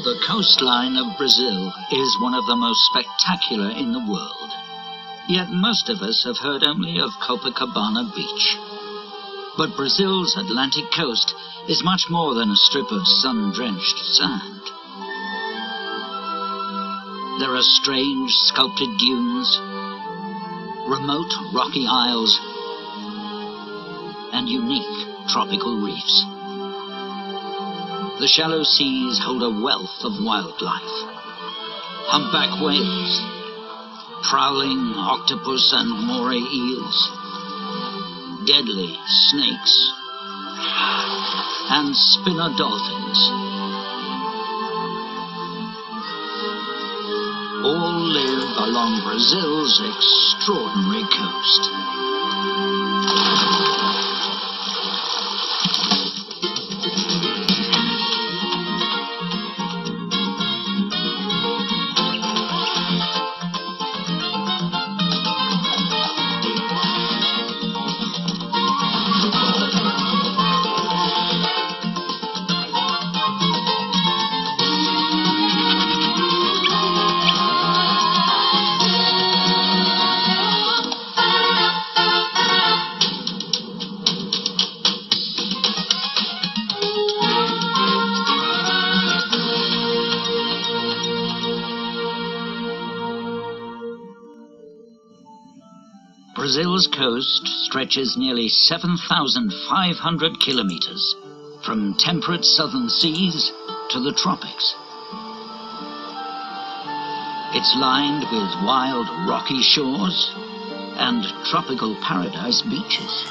The coastline of Brazil is one of the most spectacular in the world. Yet most of us have heard only of Copacabana Beach. But Brazil's Atlantic coast is much more than a strip of sun-drenched sand. There are strange sculpted dunes, remote rocky isles, and unique tropical reefs. The shallow seas hold a wealth of wildlife. Humpback whales, prowling octopus and moray eels, deadly snakes, and spinner dolphins. All live along Brazil's extraordinary coast. Brazil's coast stretches nearly 7,500 kilometers, from temperate southern seas to the tropics. It's lined with wild rocky shores and tropical paradise beaches.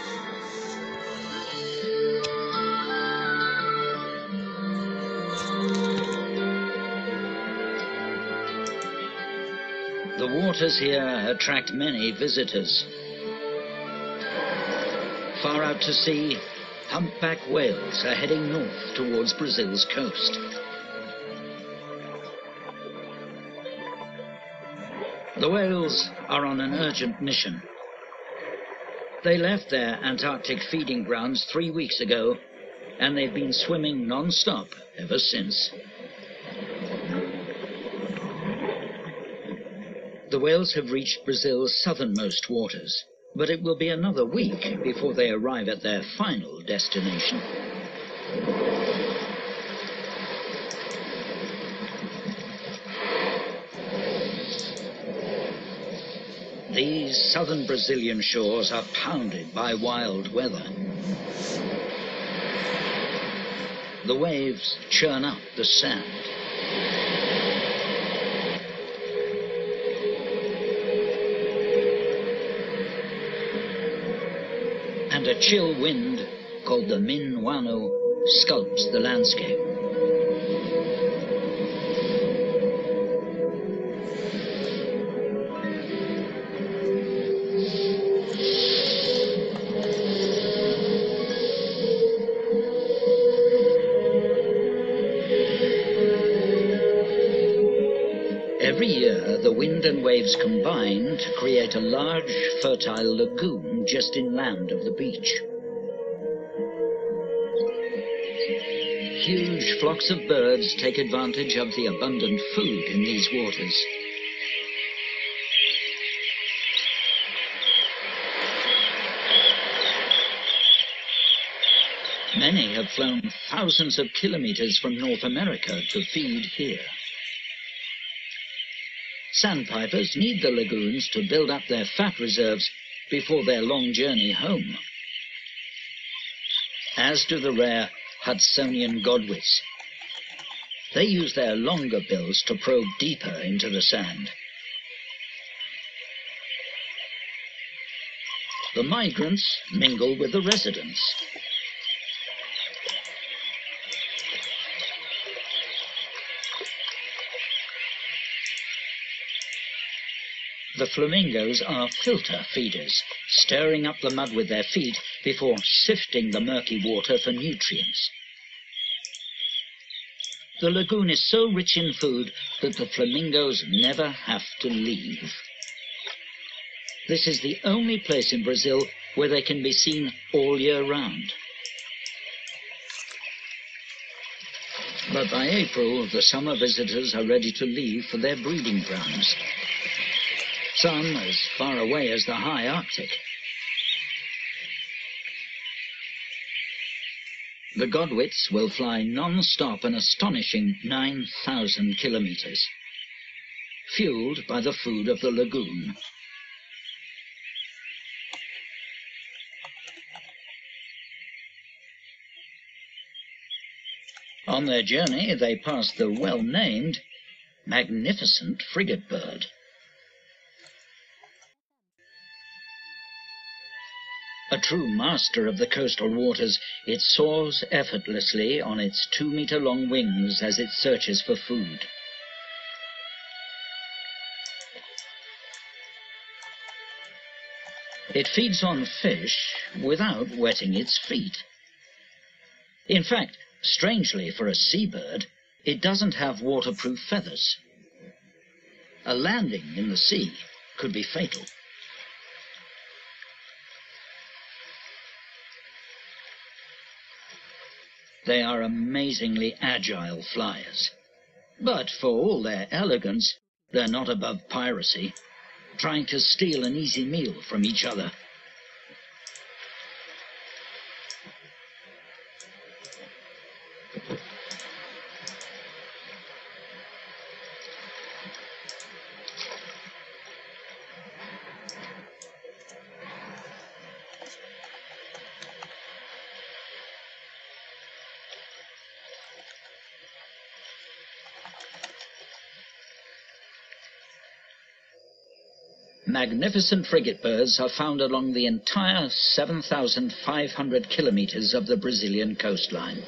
The waters here attract many visitors. Far out to sea, humpback whales are heading north towards Brazil's coast. The whales are on an urgent mission. They left their Antarctic feeding grounds 3 weeks ago, and they've been swimming non-stop ever since. The whales have reached Brazil's southernmost waters, but it will be another week before they arrive at their final destination. These southern Brazilian shores are pounded by wild weather. The waves churn up the sand. And a chill wind, called the Minuano, sculpts the landscape. Every year, the wind and waves combine to create a large, fertile lagoon just inland of the beach. Huge flocks of birds take advantage of the abundant food in these waters. Many have flown thousands of kilometers from North America to feed here. Sandpipers need the lagoons to build up their fat reserves before their long journey home, as do the rare Hudsonian godwits. They use their longer bills to probe deeper into the sand. The migrants mingle with the residents. The flamingos are filter feeders, stirring up the mud with their feet before sifting the murky water for nutrients. The lagoon is so rich in food that the flamingos never have to leave. This is the only place in Brazil where they can be seen all year round. But by April, the summer visitors are ready to leave for their breeding grounds. Some as far away as the high Arctic. The Godwits will fly non-stop an astonishing 9,000 kilometers, fueled by the food of the lagoon. On their journey, they pass the well-named magnificent frigate bird. A true master of the coastal waters, it soars effortlessly on its 2-meter-long wings as it searches for food. It feeds on fish without wetting its feet. In fact, strangely for a seabird, it doesn't have waterproof feathers. A landing in the sea could be fatal. They are amazingly agile flyers. But for all their elegance, they're not above piracy, trying to steal an easy meal from each other. Magnificent frigate birds are found along the entire 7,500 kilometers of the Brazilian coastline.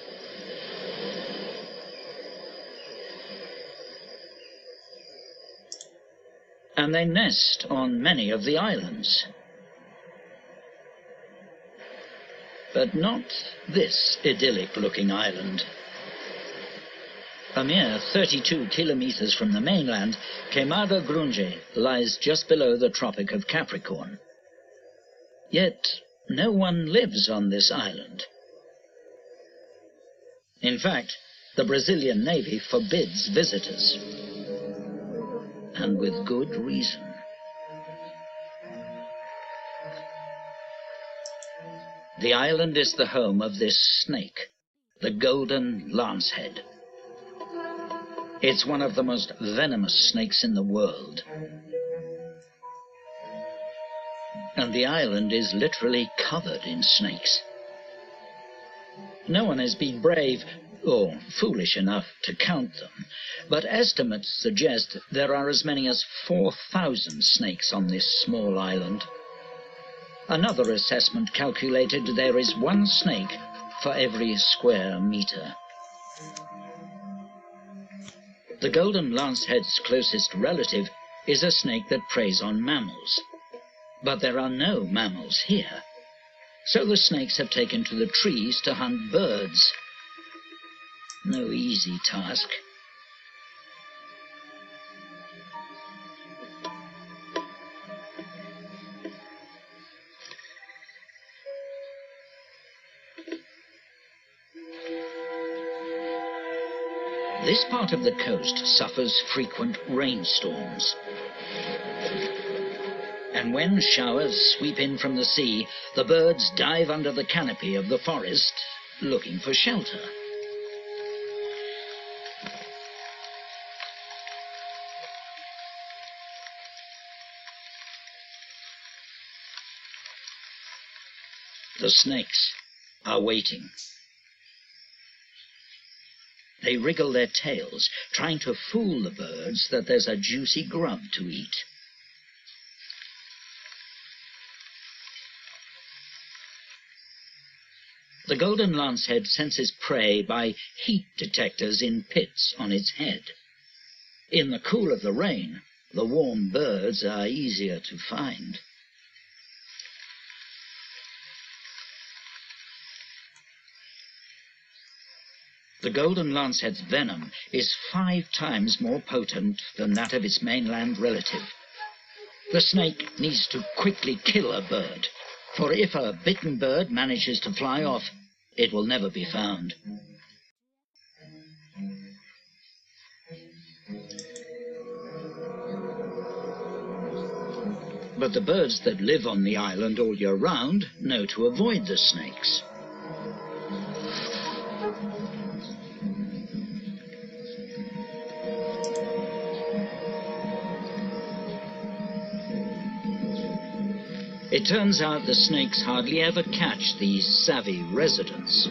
And they nest on many of the islands. But not this idyllic-looking island. A mere 32 kilometers from the mainland, Queimada Grande lies just below the Tropic of Capricorn. Yet no one lives on this island. In fact, the Brazilian Navy forbids visitors. And with good reason. The island is the home of this snake, the golden lancehead. It's one of the most venomous snakes in the world. And the island is literally covered in snakes. No one has been brave or foolish enough to count them, but estimates suggest there are as many as 4,000 snakes on this small island. Another assessment calculated there is one snake for every square meter. The golden lancehead's closest relative is a snake that preys on mammals. But there are no mammals here. So the snakes have taken to the trees to hunt birds. No easy task. This part of the coast suffers frequent rainstorms. And when showers sweep in from the sea, the birds dive under the canopy of the forest, looking for shelter. The snakes are waiting. They wriggle their tails, trying to fool the birds that there's a juicy grub to eat. The golden lancehead senses prey by heat detectors in pits on its head. In the cool of the rain, the warm birds are easier to find. The golden lancehead's venom is 5 times more potent than that of its mainland relative. The snake needs to quickly kill a bird, for if a bitten bird manages to fly off, it will never be found. But the birds that live on the island all year round know to avoid the snakes. It turns out the snakes hardly ever catch these savvy residents.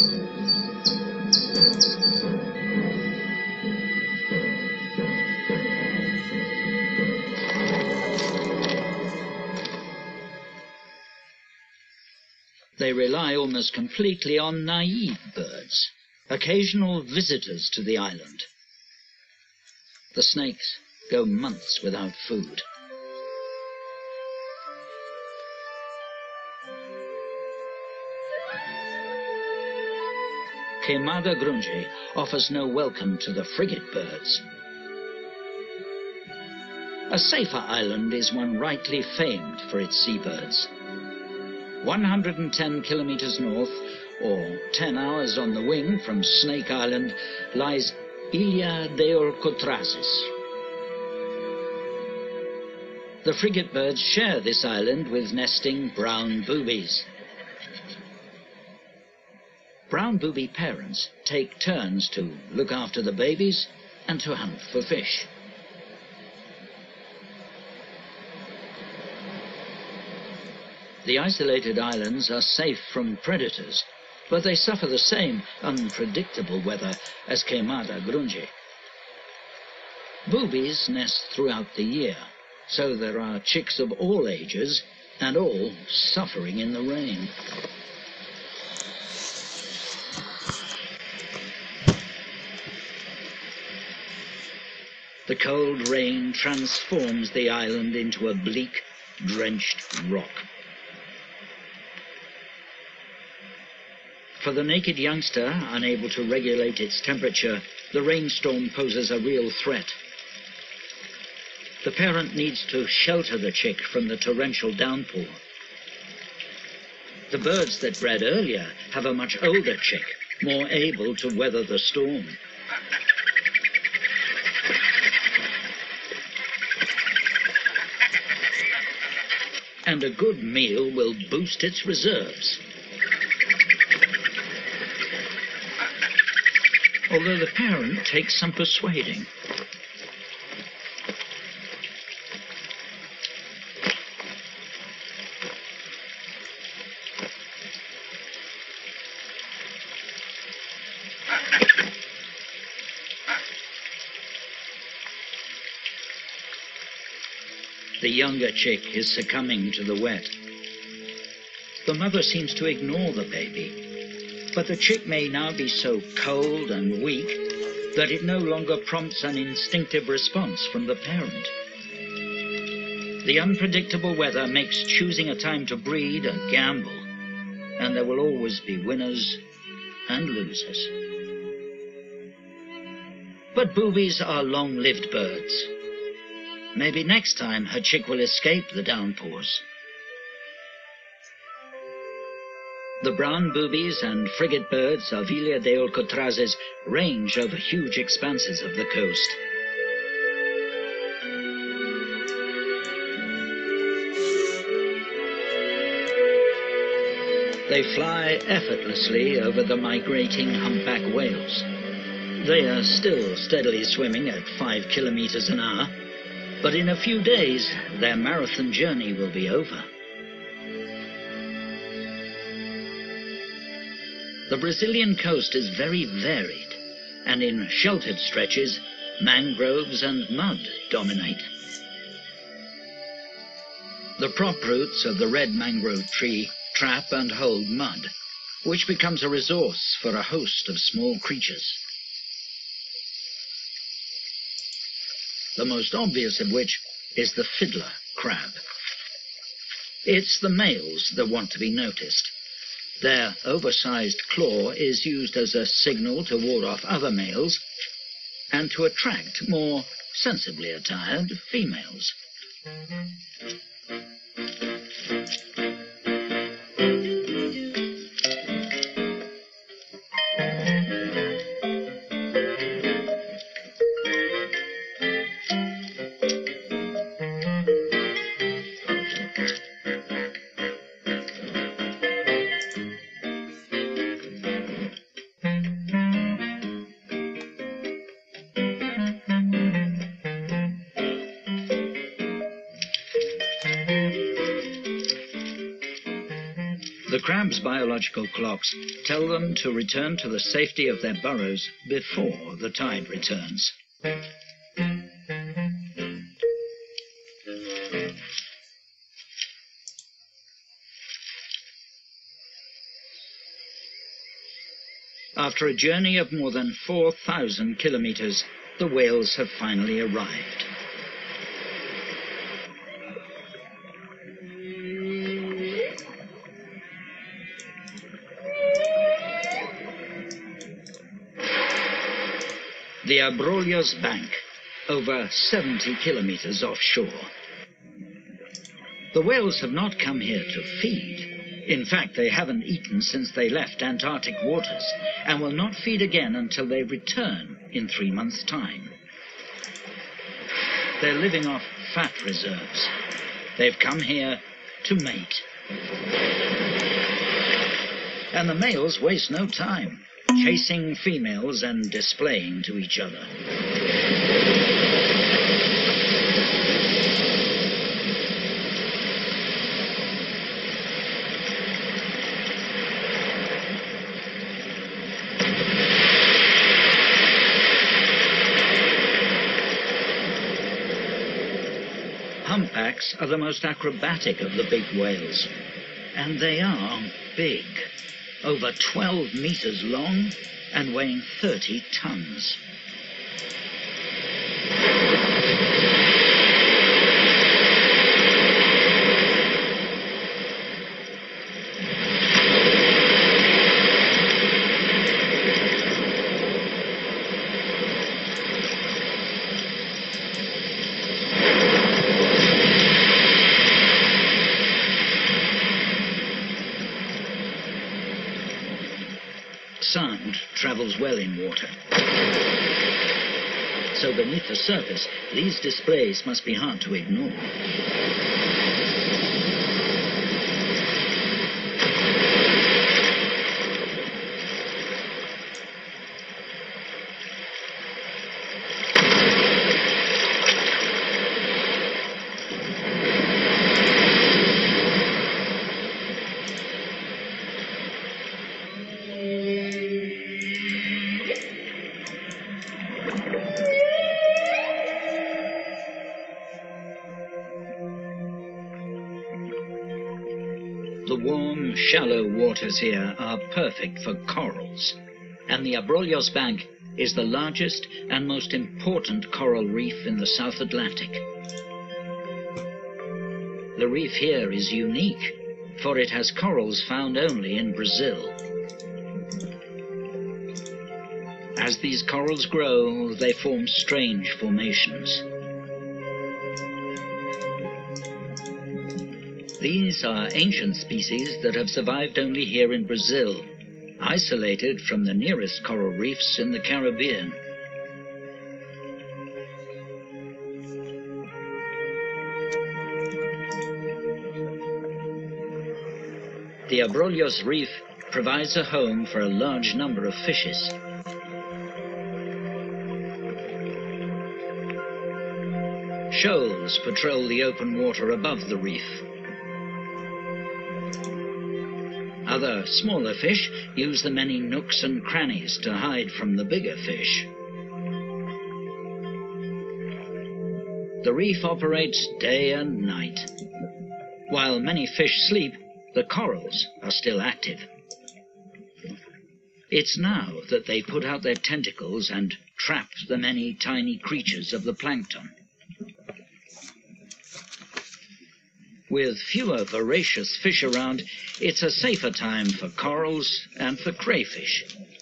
They rely almost completely on naive birds, occasional visitors to the island. The snakes go months without food. Queimada Grunge offers no welcome to the frigate birds. A safer island is one rightly famed for its seabirds. 110 kilometers north, or 10 hours on the wing from Snake Island, lies Ilha de Alcotrazes. The frigate birds share this island with nesting brown boobies. Brown booby parents take turns to look after the babies and to hunt for fish. The isolated islands are safe from predators, but they suffer the same unpredictable weather as Queimada Grunge. Boobies nest throughout the year, so there are chicks of all ages and all suffering in the rain. The cold rain transforms the island into a bleak, drenched rock. For the naked youngster, unable to regulate its temperature, the rainstorm poses a real threat. The parent needs to shelter the chick from the torrential downpour. The birds that bred earlier have a much older chick, more able to weather the storm. And a good meal will boost its reserves. Although the parent takes some persuading. The younger chick is succumbing to the wet. The mother seems to ignore the baby, but the chick may now be so cold and weak that it no longer prompts an instinctive response from the parent. The unpredictable weather makes choosing a time to breed a gamble, and there will always be winners and losers. But boobies are long-lived birds. Maybe next time her chick will escape the downpours. The brown boobies and frigate birds of Ilha de Alcotrazes range over huge expanses of the coast. They fly effortlessly over the migrating humpback whales. They are still steadily swimming at 5 kilometers an hour, but in a few days their marathon journey will be over. The Brazilian coast is very varied, and in sheltered stretches, mangroves and mud dominate. The prop roots of the red mangrove tree trap and hold mud, which becomes a resource for a host of small creatures. The most obvious of which is the fiddler crab. It's the males that want to be noticed. Their oversized claw is used as a signal to ward off other males and to attract more sensibly attired females. The crab's biological clocks tell them to return to the safety of their burrows before the tide returns. After a journey of more than 4,000 kilometers, the whales have finally arrived. The Abrolhos Bank, over 70 kilometers offshore. The whales have not come here to feed. In fact, they haven't eaten since they left Antarctic waters, and will not feed again until they return in 3 months' time. They're living off fat reserves. They've come here to mate. And the males waste no time, chasing females and displaying to each other. Humpbacks are the most acrobatic of the big whales, and they are big, over 12 meters long and weighing 30 tons. Sound travels well in water. So beneath the surface, these displays must be hard to ignore. The warm, shallow waters here are perfect for corals, and the Abrolhos Bank is the largest and most important coral reef in the South Atlantic. The reef here is unique, for it has corals found only in Brazil. As these corals grow, they form strange formations. These are ancient species that have survived only here in Brazil, isolated from the nearest coral reefs in the Caribbean. The Abrolhos Reef provides a home for a large number of fishes. Shoals patrol the open water above the reef. Other smaller fish use the many nooks and crannies to hide from the bigger fish. The reef operates day and night. While many fish sleep, the corals are still active. It's now that they put out their tentacles and trap the many tiny creatures of the plankton. With fewer voracious fish around, it's a safer time for corals and for crayfish.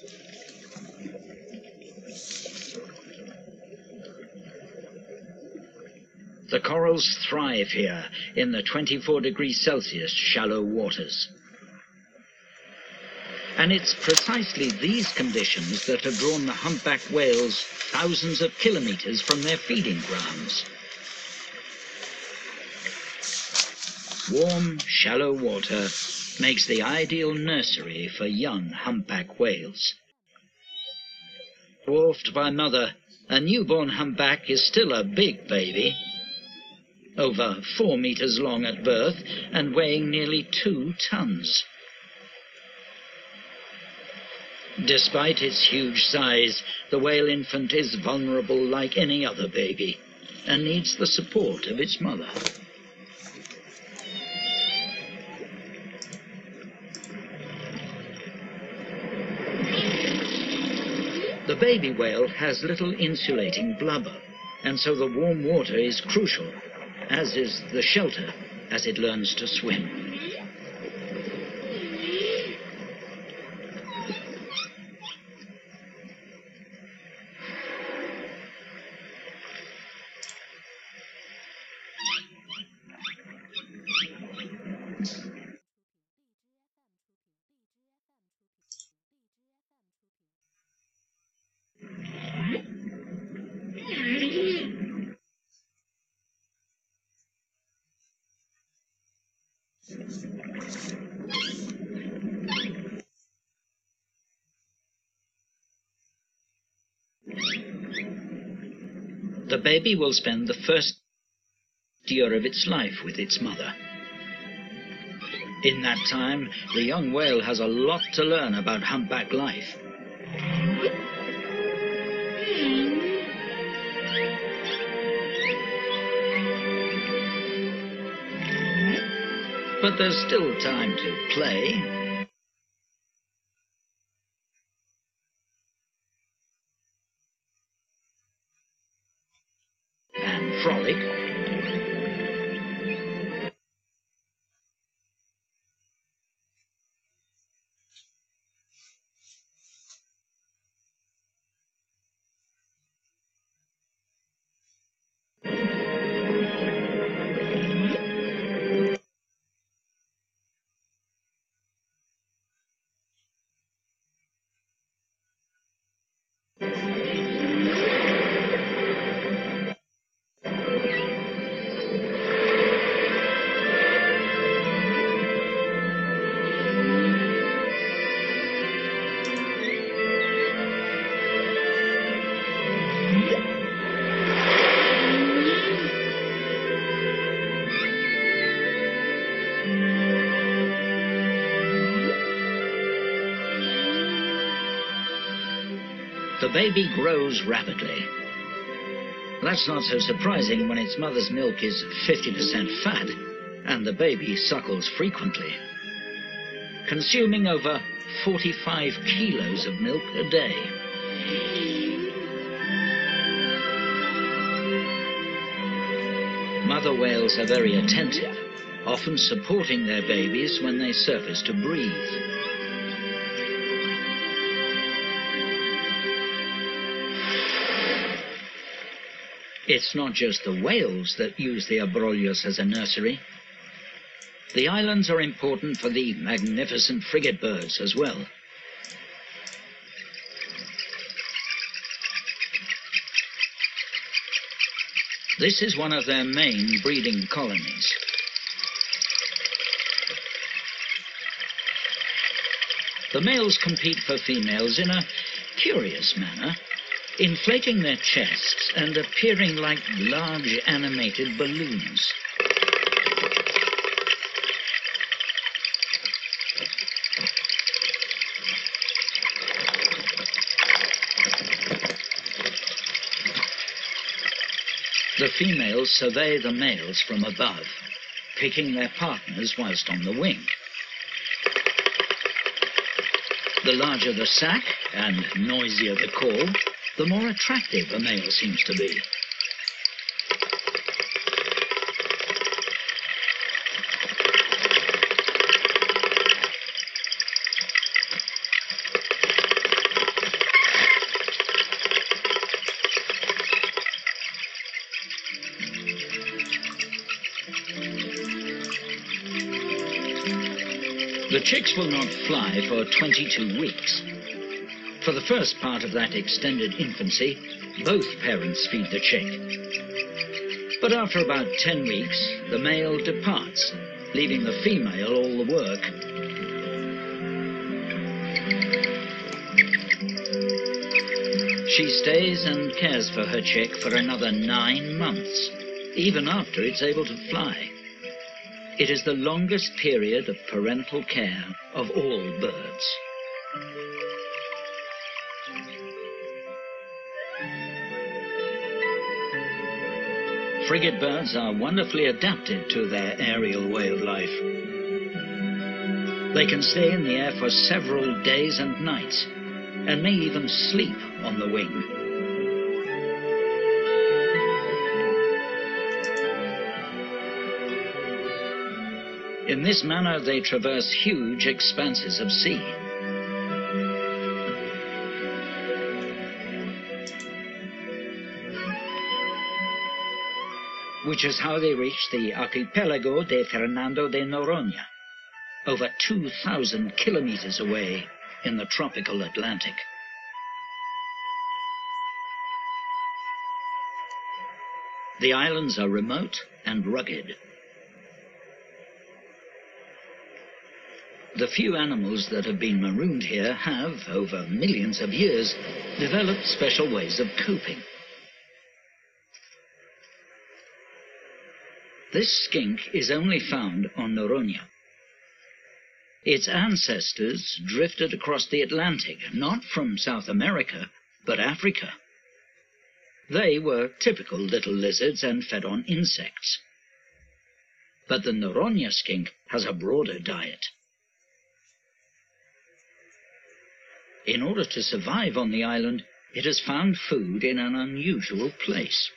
The corals thrive here in the 24 degrees Celsius shallow waters. And it's precisely these conditions that have drawn the humpback whales thousands of kilometers from their feeding grounds. Warm, shallow water makes the ideal nursery for young humpback whales. Dwarfed by mother, a newborn humpback is still a big baby, over 4 meters long at birth and weighing nearly 2 tons. Despite its huge size, the whale infant is vulnerable like any other baby and needs the support of its mother. The baby whale has little insulating blubber, and so the warm water is crucial, as is the shelter as it learns to swim. The baby will spend the first year of its life with its mother. In that time, the young whale has a lot to learn about humpback life. But there's still time to play. And frolic. The baby grows rapidly. That's not so surprising when its mother's milk is 50% fat and the baby suckles frequently, consuming over 45 kilos of milk a day. Mother whales are very attentive, often supporting their babies when they surface to breathe. It's not just the whales that use the Abrolhos as a nursery. The islands are important for the magnificent frigate birds as well. This is one of their main breeding colonies. The males compete for females in a curious manner, inflating their chests and appearing like large animated balloons. The females survey the males from above, picking their partners whilst on the wing. The larger the sack and noisier the call, the more attractive a male seems to be. The chicks will not fly for 22 weeks. For the first part of that extended infancy, both parents feed the chick. But after about 10 weeks, the male departs, leaving the female all the work. She stays and cares for her chick for another 9 months, even after it's able to fly. It is the longest period of parental care of all birds. Frigate birds are wonderfully adapted to their aerial way of life. They can stay in the air for several days and nights, and may even sleep on the wing. In this manner, they traverse huge expanses of sea. Which is how they reach the archipelago de Fernando de Noronha, over 2,000 kilometers away in the tropical Atlantic. The islands are remote and rugged. The few animals that have been marooned here have, over millions of years, developed special ways of coping. This skink is only found on Noronha. Its ancestors drifted across the Atlantic, not from South America, but Africa. They were typical little lizards and fed on insects. But the Noronha skink has a broader diet. In order to survive on the island, it has found food in an unusual place.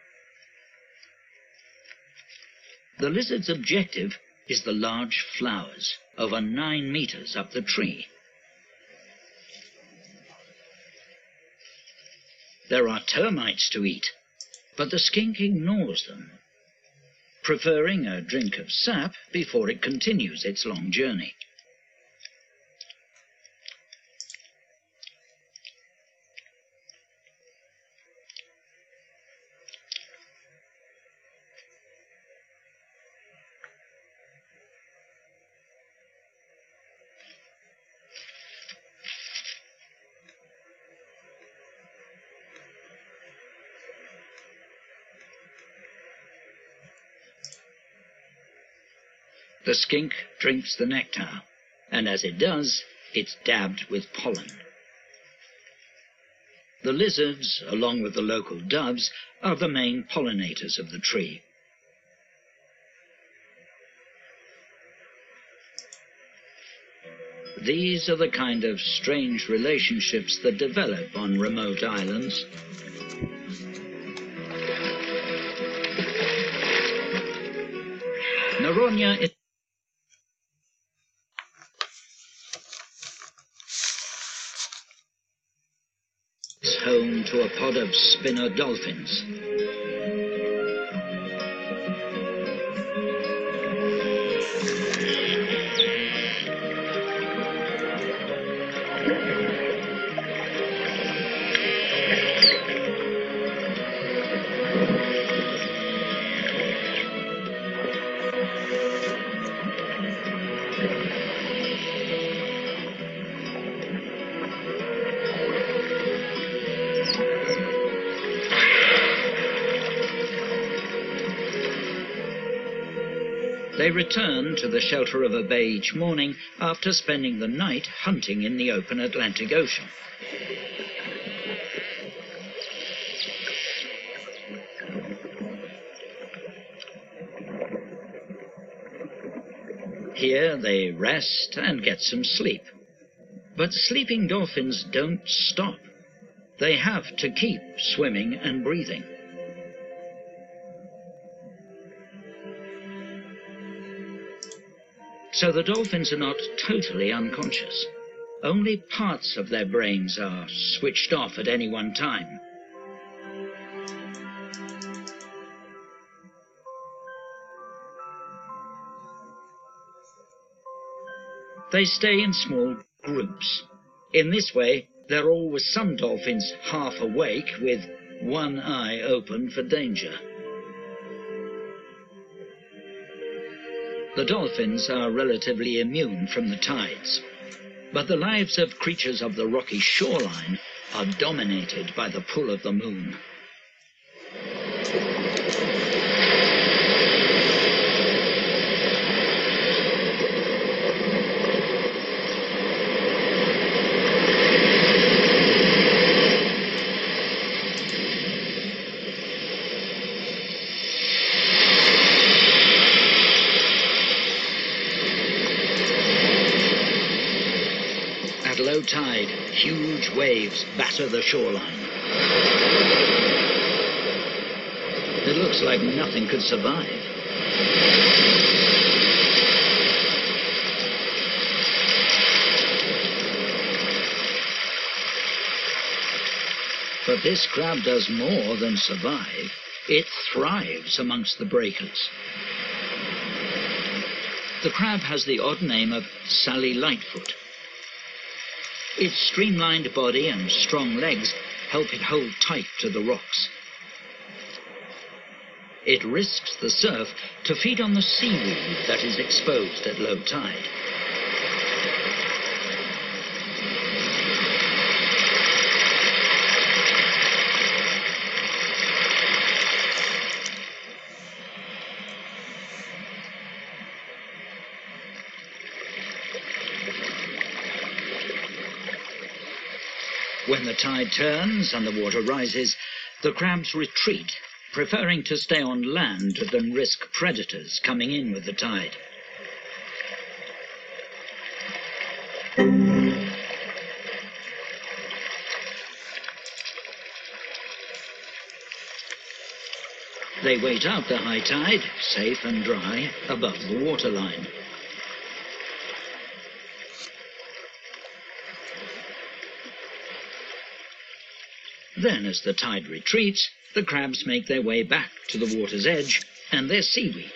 The lizard's objective is the large flowers, over 9 meters up the tree. There are termites to eat, but the skink ignores them, preferring a drink of sap before it continues its long journey. The skink drinks the nectar, and as it does, it's dabbed with pollen. The lizards, along with the local doves, are the main pollinators of the tree. These are the kind of strange relationships that develop on remote islands. Noronha is home to a pod of spinner dolphins. They return to the shelter of a bay each morning after spending the night hunting in the open Atlantic Ocean. Here they rest and get some sleep. But sleeping dolphins don't stop. They have to keep swimming and breathing. So the dolphins are not totally unconscious. Only parts of their brains are switched off at any one time. They stay in small groups. In this way, there are always some dolphins half awake with one eye open for danger. The dolphins are relatively immune from the tides, but the lives of creatures of the rocky shoreline are dominated by the pull of the moon. tide, huge waves batter the shoreline. It looks like nothing could survive. But this crab does more than survive. It thrives amongst the breakers. The crab has the odd name of Sally Lightfoot. Its streamlined body and strong legs help it hold tight to the rocks. It risks the surf to feed on the seaweed that is exposed at low tide. When the tide turns and the water rises, the crabs retreat, preferring to stay on land than risk predators coming in with the tide. They wait out the high tide, safe and dry, above the waterline. Then, as the tide retreats, the crabs make their way back to the water's edge and their seaweed.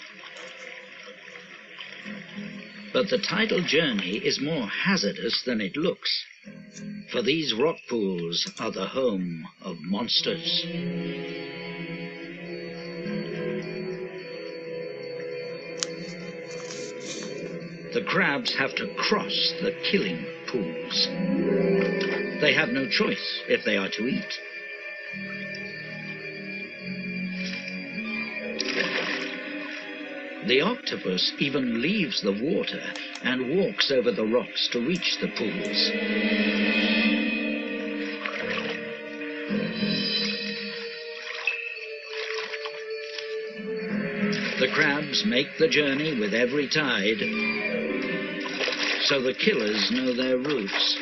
But the tidal journey is more hazardous than it looks, for these rock pools are the home of monsters. The crabs have to cross the killing pools. They have no choice if they are to eat. The octopus even leaves the water and walks over the rocks to reach the pools. The crabs make the journey with every tide, so the killers know their routes.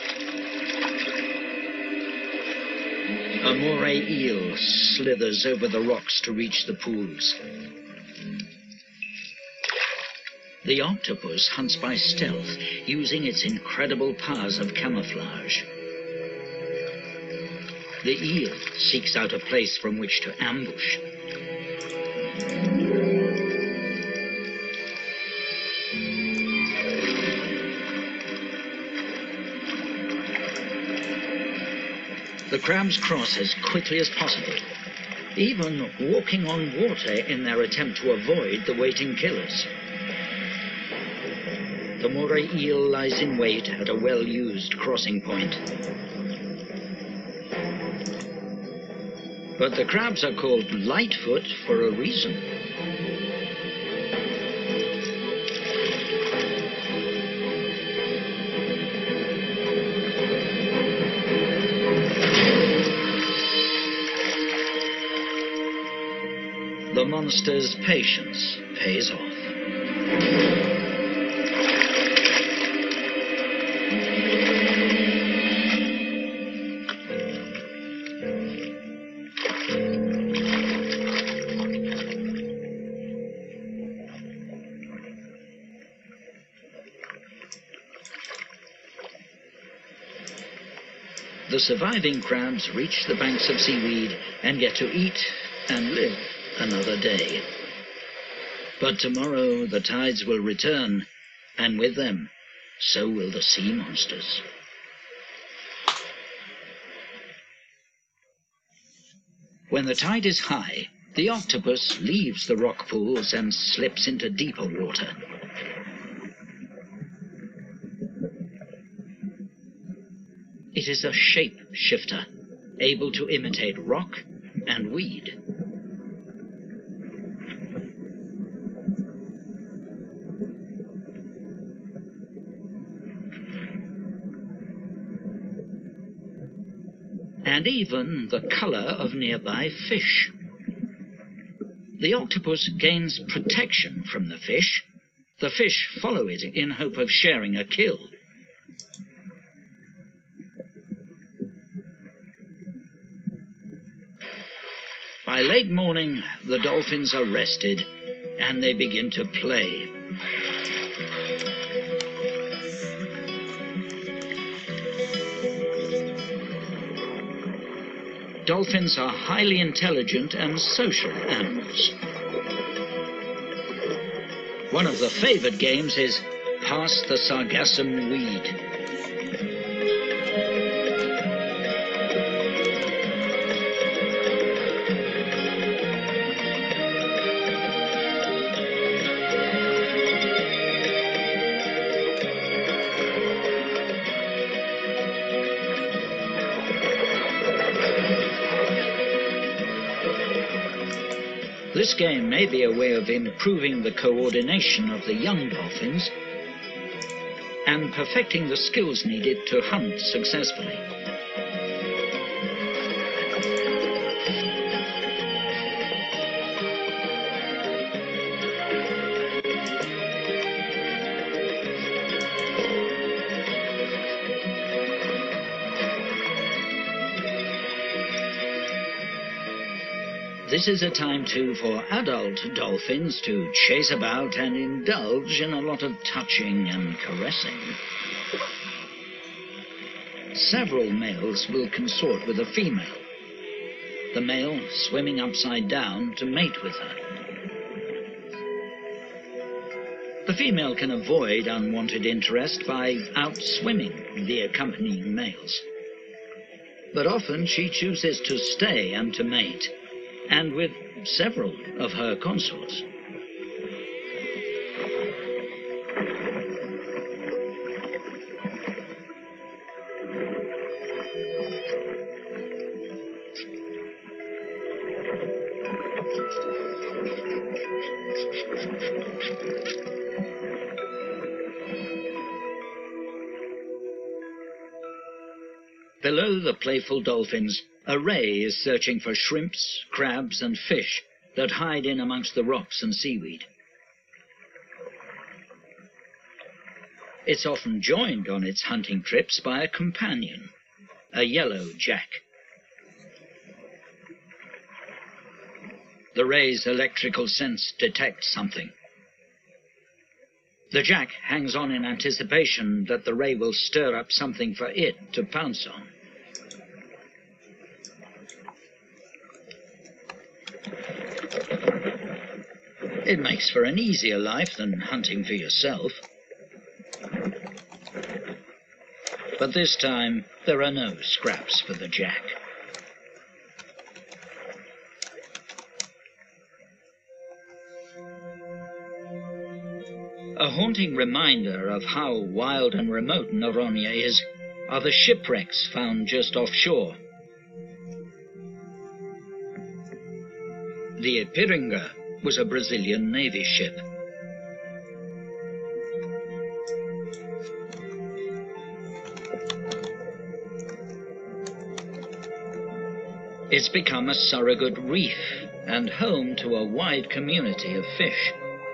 A moray eel slithers over the rocks to reach the pools. The octopus hunts by stealth, using its incredible powers of camouflage. The eel seeks out a place from which to ambush. The crabs cross as quickly as possible, even walking on water in their attempt to avoid the waiting killers. The moray eel lies in wait at a well-used crossing point. But the crabs are called Lightfoot for a reason. The monster's patience pays off. The surviving crabs reach the banks of seaweed and get to eat and live another day. But tomorrow the tides will return, and with them, so will the sea monsters. When the tide is high, the octopus leaves the rock pools and slips into deeper water. It is a shape shifter, able to imitate rock and weed. And even the color of nearby fish. The octopus gains protection from the fish. The fish follow it in hope of sharing a kill. By late morning, the dolphins are rested, and they begin to play. Dolphins are highly intelligent and social animals. One of the favored games is Pass the Sargassum Weed. This game may be a way of improving the coordination of the young dolphins and perfecting the skills needed to hunt successfully. This is a time too for adult dolphins to chase about and indulge in a lot of touching and caressing. Several males will consort with a female, the male swimming upside down to mate with her. The female can avoid unwanted interest by outswimming the accompanying males. But often she chooses to stay and to mate, and with several of her consorts. Below the playful dolphins, a ray is searching for shrimps, crabs, and fish that hide in amongst the rocks and seaweed. It's often joined on its hunting trips by a companion, a yellow jack. The ray's electrical sense detects something. The jack hangs on in anticipation that the ray will stir up something for it to pounce on. It makes for an easier life than hunting for yourself. But this time, there are no scraps for the jack. A haunting reminder of how wild and remote Noronha is are the shipwrecks found just offshore. The Ipiranga was a Brazilian Navy ship. It's become a surrogate reef and home to a wide community of fish.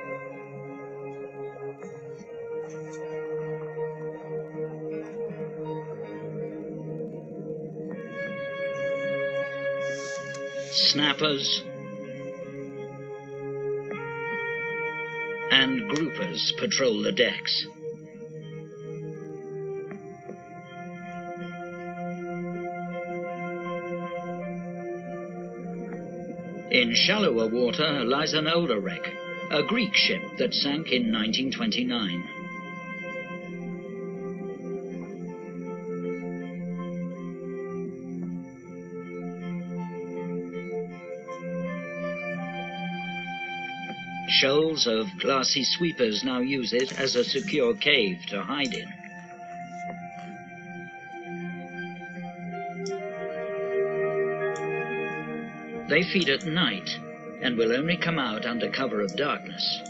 Snappers and groupers patrol the decks. In shallower water lies an older wreck, a Greek ship that sank in 1929. Shoals of glassy sweepers now use it as a secure cave to hide in. They feed at night and will only come out under cover of darkness.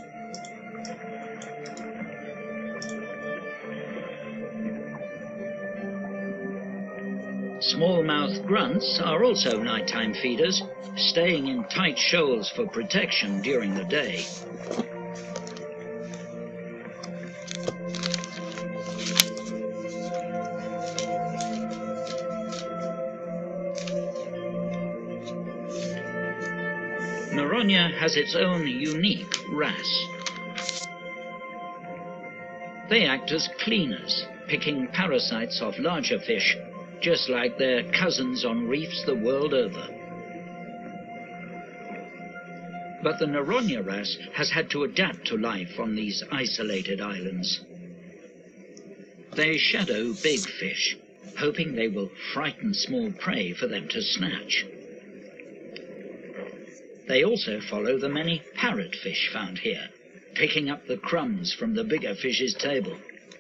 Smallmouth grunts are also nighttime feeders, staying in tight shoals for protection during the day. Noronha has its own unique wrasse. They act as cleaners, picking parasites off larger fish, just like their cousins on reefs the world over. But the Noronha wrasse has had to adapt to life on these isolated islands. They shadow big fish, hoping they will frighten small prey for them to snatch. They also follow the many parrotfish found here, picking up the crumbs from the bigger fish's table.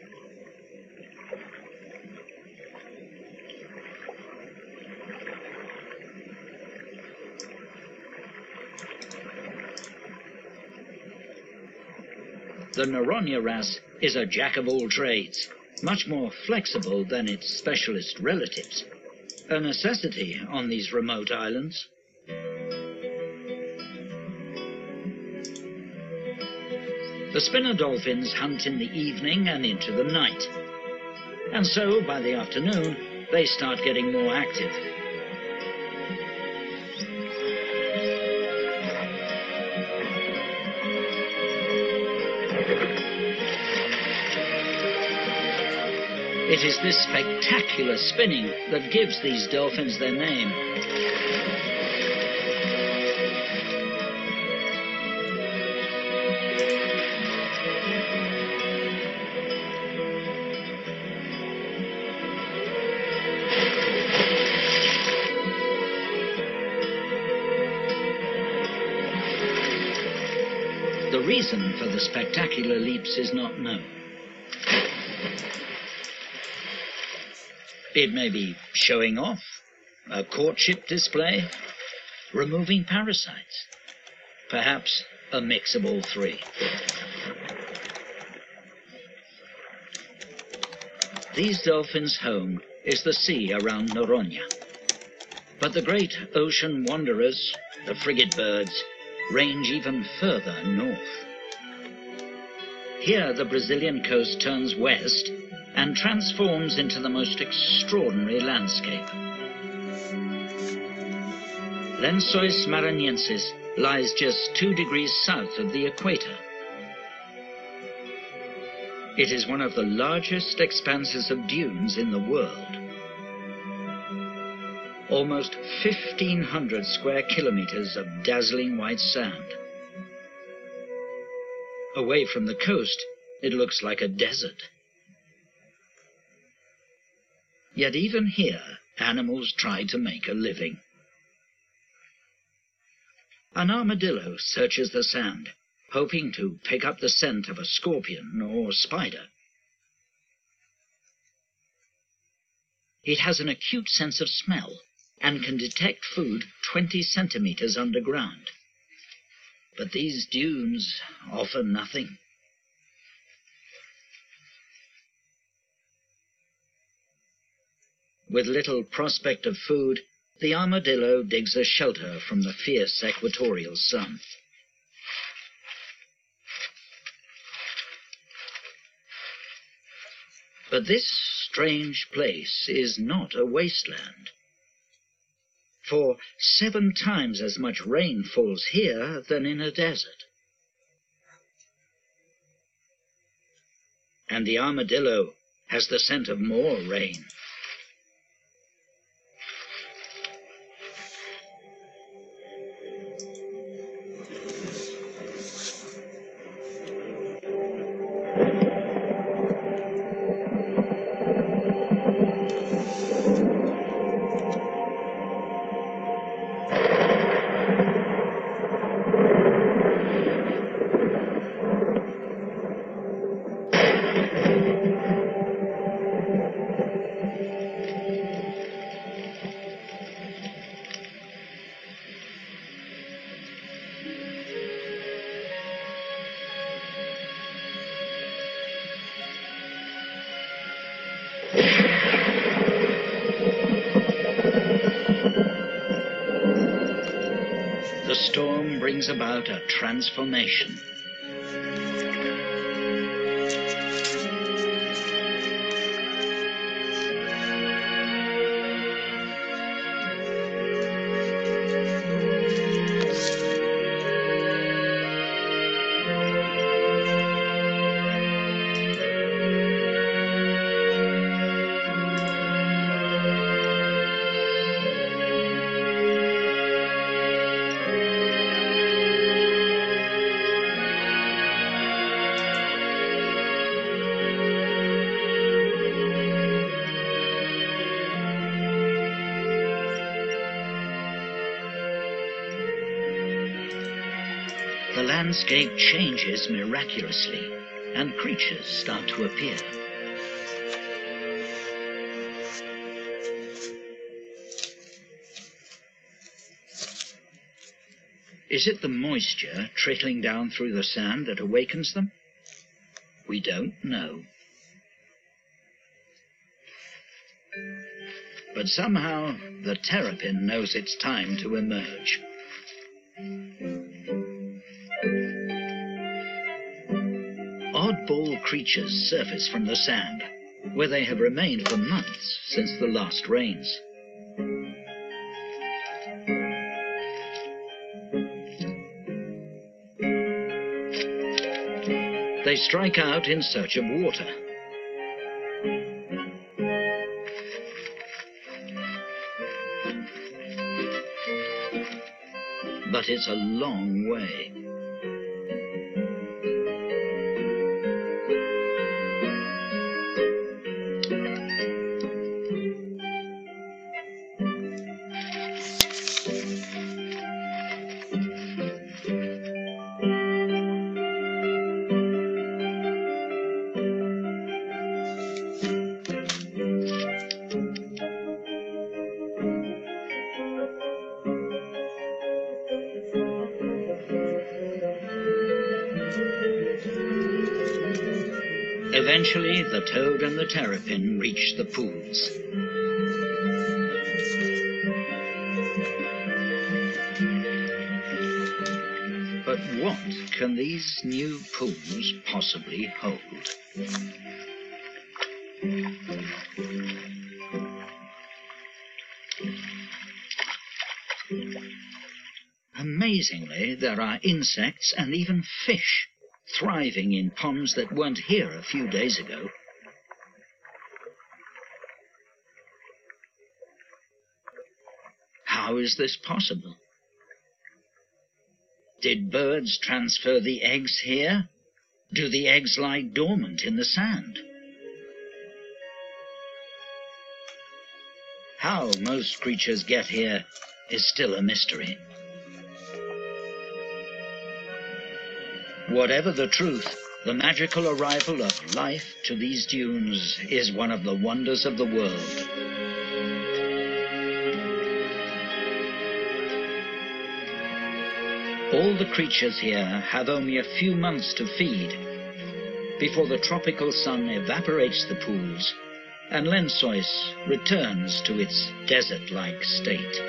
The Noronha wrasse is a jack of all trades, much more flexible than its specialist relatives, a necessity on these remote islands. The spinner dolphins hunt in the evening and into the night, and so by the afternoon they start getting more active. It is this spectacular spinning that gives these dolphins their name. The reason for the spectacular leaps is not known. It may be showing off, a courtship display, removing parasites, perhaps a mix of all three. These dolphins' home is the sea around Noronha. But the great ocean wanderers, the frigate birds, range even further north. Here the Brazilian coast turns west and transforms into the most extraordinary landscape. Lençóis Maranhenses lies just 2 degrees south of the equator. It is one of the largest expanses of dunes in the world. Almost 1,500 square kilometers of dazzling white sand. Away from the coast, it looks like a desert. Yet even here, animals try to make a living. An armadillo searches the sand, hoping to pick up the scent of a scorpion or spider. It has an acute sense of smell and can detect food 20 centimeters underground. But these dunes offer nothing. With little prospect of food, the armadillo digs a shelter from the fierce equatorial sun. But this strange place is not a wasteland. For 7 times as much rain falls here than in a desert. And the armadillo has the scent of more rain. The storm brings about a transformation. the landscape changes miraculously, and creatures start to appear. Is it the moisture trickling down through the sand that awakens them? We don't know. But somehow the terrapin knows it's time to emerge. Oddball creatures surface from the sand, where they have remained for months since the last rains. They strike out in search of water. But it's a long way. Eventually, the toad and the terrapin reach the pools. But what can these new pools possibly hold? Amazingly, there are insects and even fish thriving in ponds that weren't here a few days ago. How is this possible? Did birds transfer the eggs here? Do the eggs lie dormant in the sand? How most creatures get here is still a mystery. Whatever the truth, the magical arrival of life to these dunes is one of the wonders of the world. All the creatures here have only a few months to feed before the tropical sun evaporates the pools and Lensois returns to its desert-like state.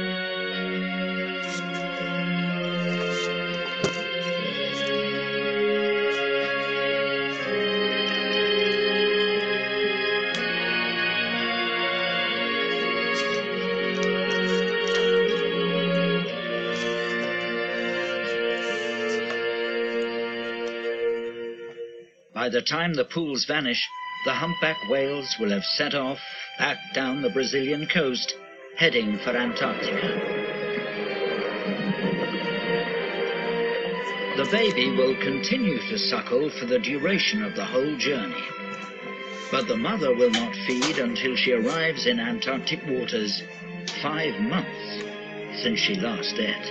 By the time the pools vanish, the humpback whales will have set off back down the Brazilian coast, heading for Antarctica. The baby will continue to suckle for the duration of the whole journey. But the mother will not feed until she arrives in Antarctic waters 5 months since she last ate.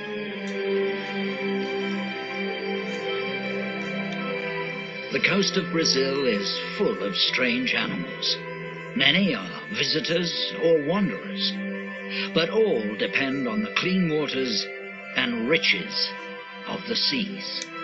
The coast of Brazil is full of strange animals. Many are visitors or wanderers, but all depend on the clean waters and riches of the seas.